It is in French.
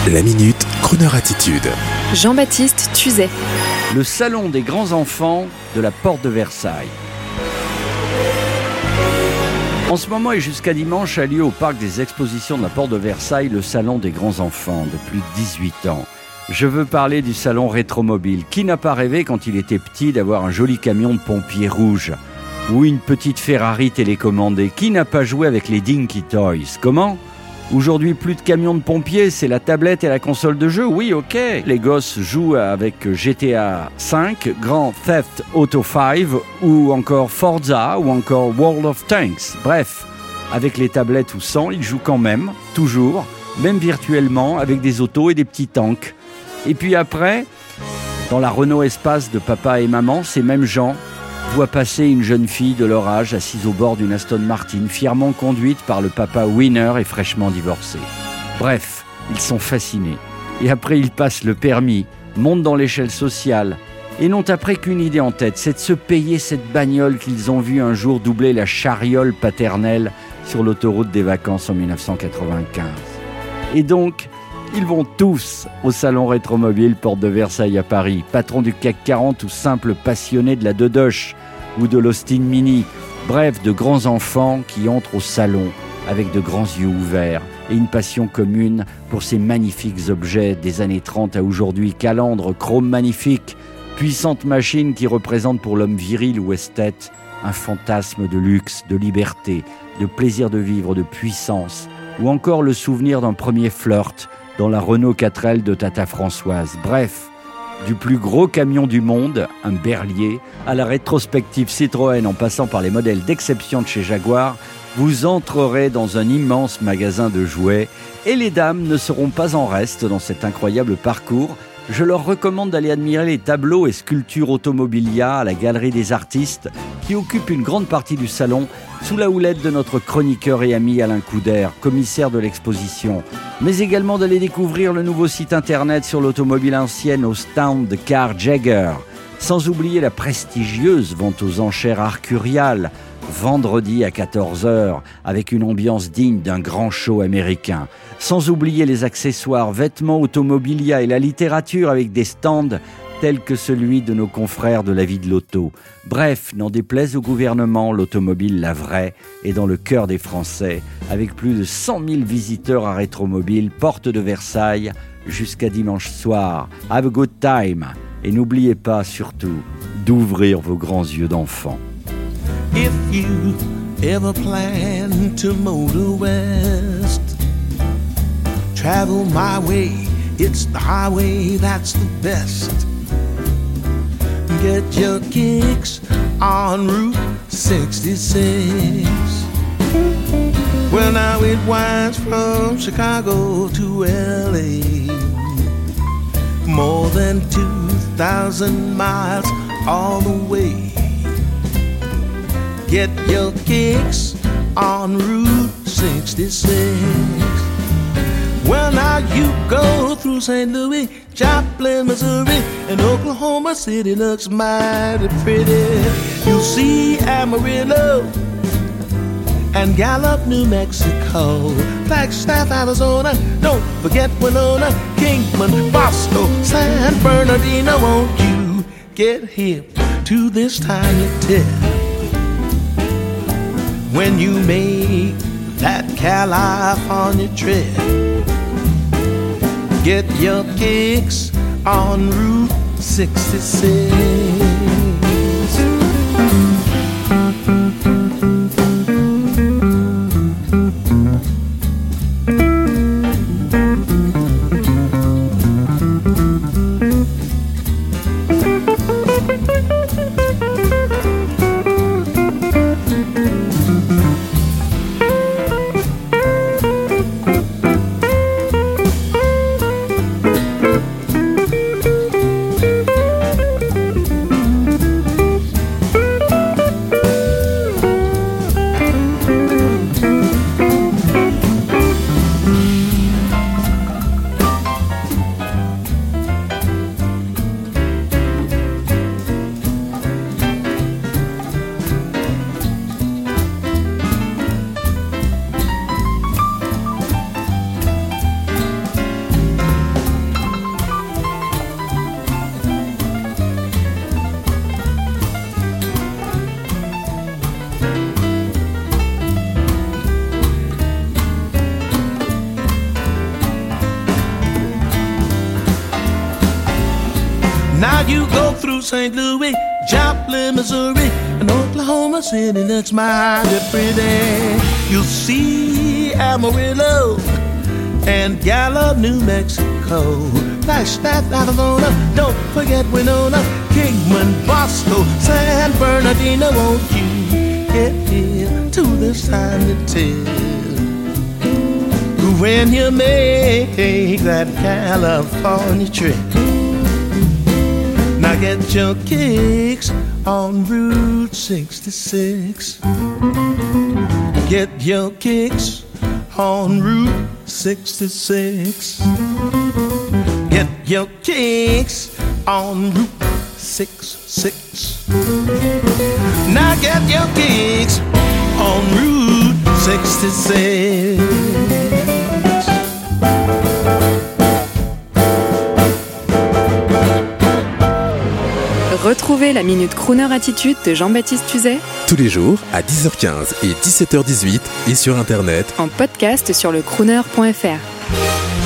La Minute, Kroneur Attitude. Jean-Baptiste Tuzet. Le salon des grands enfants de la porte de Versailles. En ce moment et jusqu'à dimanche a lieu au parc des expositions de la porte de Versailles le salon des grands enfants de plus de 18 ans. Je veux parler du salon rétromobile. Qui n'a pas rêvé quand il était petit d'avoir un joli camion de pompiers rouge ou une petite Ferrari télécommandée? Qui n'a pas joué avec les Dinky Toys? Comment ? Aujourd'hui, plus de camions de pompiers, c'est la tablette et la console de jeu. Oui, ok. Les gosses jouent avec GTA 5, Grand Theft Auto 5 ou encore Forza ou encore World of Tanks. Bref, avec les tablettes ou sans, ils jouent quand même, toujours, même virtuellement, avec des autos et des petits tanks. Et puis après, dans la Renault Espace de papa et maman, ces mêmes gens voient passer une jeune fille de leur âge assise au bord d'une Aston Martin, fièrement conduite par le papa winner et fraîchement divorcé. Bref, ils sont fascinés. Et après, ils passent le permis, montent dans l'échelle sociale et n'ont après qu'une idée en tête, c'est de se payer cette bagnole qu'ils ont vue un jour doubler la chariole paternelle sur l'autoroute des vacances en 1995. Et donc, ils vont tous au salon rétromobile Porte de Versailles à Paris, patron du CAC 40 ou simple passionné de la Dodoche ou de l'Austin Mini. Bref, de grands enfants qui entrent au salon avec de grands yeux ouverts et une passion commune pour ces magnifiques objets des années 30 à aujourd'hui. Calandres, chrome magnifique, puissante machine qui représente pour l'homme viril ou esthète un fantasme de luxe, de liberté, de plaisir de vivre, de puissance, ou encore le souvenir d'un premier flirt dans la Renault 4L de Tata Françoise. Bref, du plus gros camion du monde, un Berlier, à la rétrospective Citroën en passant par les modèles d'exception de chez Jaguar, vous entrerez dans un immense magasin de jouets et les dames ne seront pas en reste dans cet incroyable parcours. Je leur recommande d'aller admirer les tableaux et sculptures automobilia à la Galerie des Artistes qui occupent une grande partie du salon sous la houlette de notre chroniqueur et ami Alain Couder, commissaire de l'exposition, mais également d'aller découvrir le nouveau site internet sur l'automobile ancienne au stand de Car Jagger, sans oublier la prestigieuse vente aux enchères Arcurial, vendredi à 14h, avec une ambiance digne d'un grand show américain. Sans oublier les accessoires, vêtements automobilia et la littérature avec des stands tels que celui de nos confrères de la vie de l'auto. Bref, n'en déplaise au gouvernement, l'automobile, la vraie, est dans le cœur des Français, avec plus de 100 000 visiteurs à Rétromobile, porte de Versailles, jusqu'à dimanche soir. Have a good time. Et n'oubliez pas, surtout, d'ouvrir vos grands yeux d'enfant. If you ever plan to motor west, travel my way, it's the highway that's the best. Get your kicks on Route 66. Well, now it winds from Chicago to LA, more than 2,000 miles all the way. Get your kicks on Route 66. Well, now you go through St. Louis, Joplin, Missouri, and Oklahoma City looks mighty pretty. You'll see Amarillo and Gallup, New Mexico, Flagstaff, Arizona, don't forget Winona, Kingman, Bosco, San Bernardino. Won't you get hip to this tiny tip when you make that California trip? Get your kicks on Route 66. you go through St. Louis, Joplin, Missouri, and Oklahoma City looks mighty pretty. You'll see Amarillo and Gallup, New Mexico. Flagstaff, Arizona, don't forget Winona, Kingman, Bosco, San Bernardino. Won't you get here to this time to tell when you make that California trip? Now get your kicks on Route 66. Get your kicks on Route 66. Get your kicks on Route 66. Now get your kicks on Route 66. Retrouvez la Minute Crooner Attitude de Jean-Baptiste Tuzet Tous les jours à 10h15 et 17h18 et sur Internet en podcast sur le crooner.fr.